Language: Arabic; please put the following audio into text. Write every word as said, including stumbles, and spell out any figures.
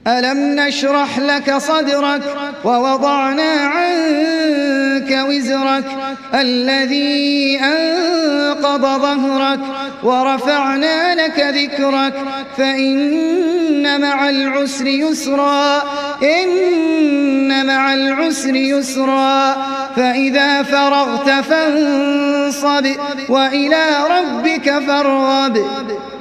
ألم نشرح لك صدرك ووضعنا عنك وزرك الذي أنقض ظهرك ورفعنا لك ذكرك فإن مع العسر يسرا إن مع العسر يسرا فإذا فرغت فانصب وإلى ربك فارغب.